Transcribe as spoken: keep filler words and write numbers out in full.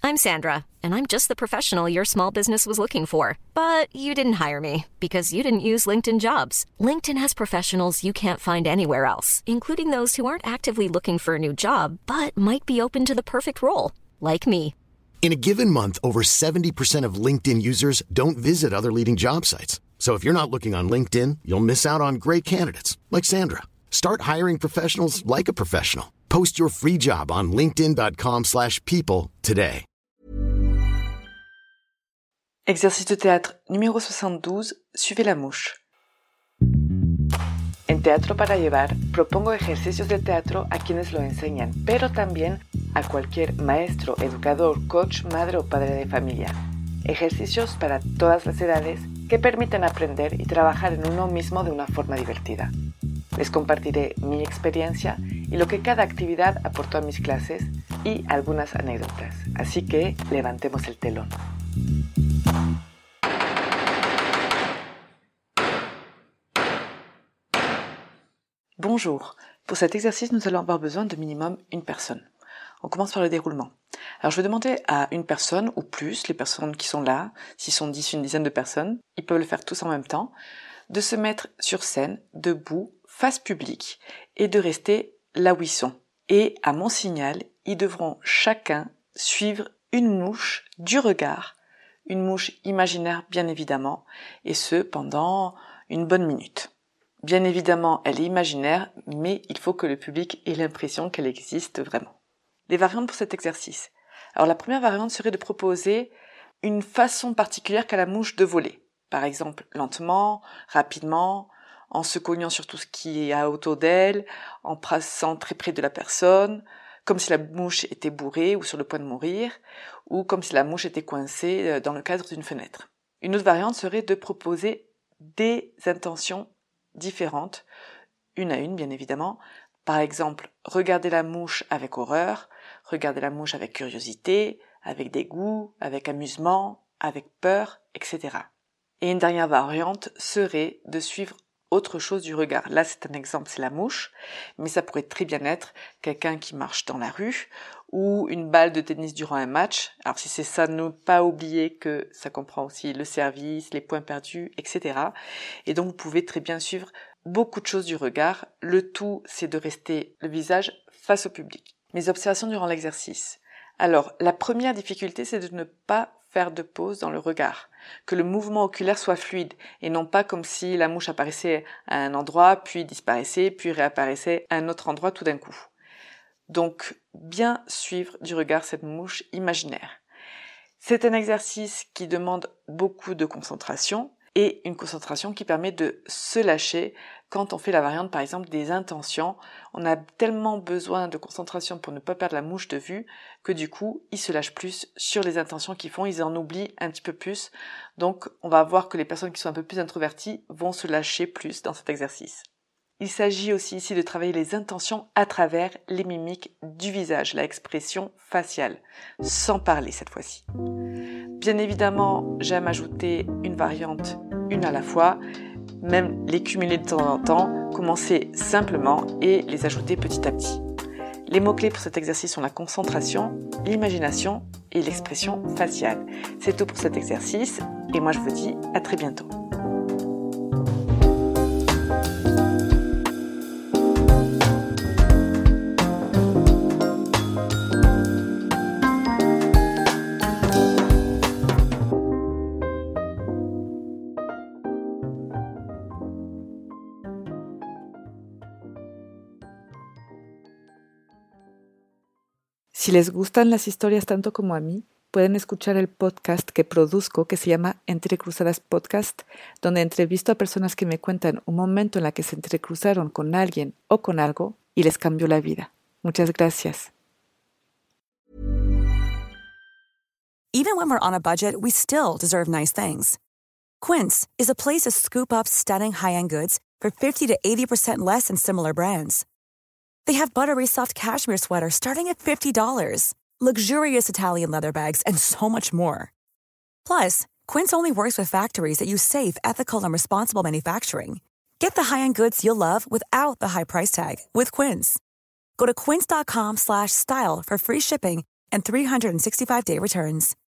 I'm Sandra, and I'm just the professional your small business was looking for. But you didn't hire me because you didn't use LinkedIn Jobs. LinkedIn has professionals you can't find anywhere else, including those who aren't actively looking for a new job, but might be open to the perfect role, like me. In a given month, over seventy percent of LinkedIn users don't visit other leading job sites. So if you're not looking on LinkedIn, you'll miss out on great candidates like Sandra. Start hiring professionals like a professional. Post your free job on linkedin.com slash people today. Exercice de théâtre numéro soixante-douze, suivez la mouche. En Teatro para Llevar propongo ejercicios de teatro a quienes lo enseñan, pero también a cualquier maestro, educador, coach, madre o padre de familia. Ejercicios para todas las edades que permiten aprender y trabajar en uno mismo de una forma divertida. Les compartiré mi experiencia y lo que cada actividad aportó a mis clases y algunas anécdotas. Así que levantemos el telón. Bonjour. Pour cet exercice, nous allons avoir besoin de minimum une personne. On commence par le déroulement. Alors je vais demander à une personne ou plus, les personnes qui sont là, s'ils sont dix, une dizaine de personnes, ils peuvent le faire tous en même temps, de se mettre sur scène, debout, face publique, et de rester là où ils sont. Et à mon signal, ils devront chacun suivre une mouche du regard, une mouche imaginaire bien évidemment, et ce pendant une bonne minute. Bien évidemment, elle est imaginaire, mais il faut que le public ait l'impression qu'elle existe vraiment. Les variantes pour cet exercice. Alors la première variante serait de proposer une façon particulière qu'a la mouche de voler. Par exemple, lentement, rapidement, en se cognant sur tout ce qui est à autour d'elle, en passant très près de la personne, comme si la mouche était bourrée ou sur le point de mourir, ou comme si la mouche était coincée dans le cadre d'une fenêtre. Une autre variante serait de proposer des intentions différentes, une à une bien évidemment. Par exemple, regarder la mouche avec horreur, regarder la mouche avec curiosité, avec dégoût, avec amusement, avec peur, et cetera. Et une dernière variante serait de suivre autre chose du regard. Là, c'est un exemple, c'est la mouche, mais ça pourrait très bien être quelqu'un qui marche dans la rue ou une balle de tennis durant un match. Alors si c'est ça, ne pas oublier que ça comprend aussi le service, les points perdus, et cetera. Et donc, vous pouvez très bien suivre beaucoup de choses du regard. Le tout, c'est de rester le visage face au public. Mes observations durant l'exercice. Alors, la première difficulté, c'est de ne pas faire de pause dans le regard, que le mouvement oculaire soit fluide et non pas comme si la mouche apparaissait à un endroit, puis disparaissait, puis réapparaissait à un autre endroit tout d'un coup. Donc, bien suivre du regard cette mouche imaginaire. C'est un exercice qui demande beaucoup de concentration et une concentration qui permet de se lâcher quand on fait la variante, par exemple, des intentions. On a tellement besoin de concentration pour ne pas perdre la mouche de vue que du coup, ils se lâchent plus sur les intentions qu'ils font, ils en oublient un petit peu plus. Donc, on va voir que les personnes qui sont un peu plus introverties vont se lâcher plus dans cet exercice. Il s'agit aussi ici de travailler les intentions à travers les mimiques du visage, la expression faciale, sans parler cette fois-ci. Bien évidemment, j'aime ajouter une variante, une à la fois, même les cumuler de temps en temps, commencer simplement et les ajouter petit à petit. Les mots-clés pour cet exercice sont la concentration, l'imagination et l'expression faciale. C'est tout pour cet exercice et moi je vous dis à très bientôt. Si les gustan las historias tanto como a mí, pueden escuchar el podcast que produzco que se llama Entrecruzadas Podcast, donde entrevisto a personas que me cuentan un momento en la que se entrecruzaron con alguien o con algo y les cambió la vida. Muchas gracias. Even when we're on a budget, we still deserve nice things. Quince is a place to scoop up stunning high-end goods for fifty to eighty percent less than similar brands. They have buttery soft cashmere sweaters starting at fifty dollars, luxurious Italian leather bags, and so much more. Plus, Quince only works with factories that use safe, ethical, and responsible manufacturing. Get the high-end goods you'll love without the high price tag with Quince. Go to quince.com slash style for free shipping and three hundred sixty-five day returns.